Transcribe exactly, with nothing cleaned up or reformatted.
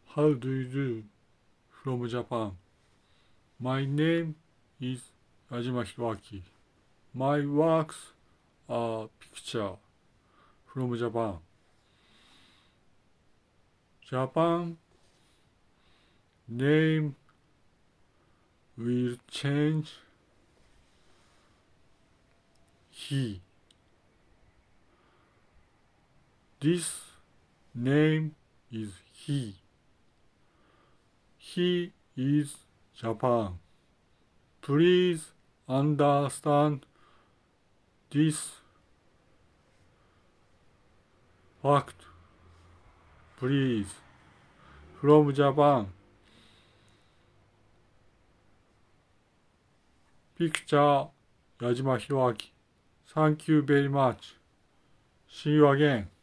How do you do? From Japan. My name is Yajima Hiroaki. My works are picture from Japan. Japan name will change. He. This name is he. He is Japan. Please understand this fact. Please. From Japan. Picture Yajima Hiroaki. Thank you very much. See you again.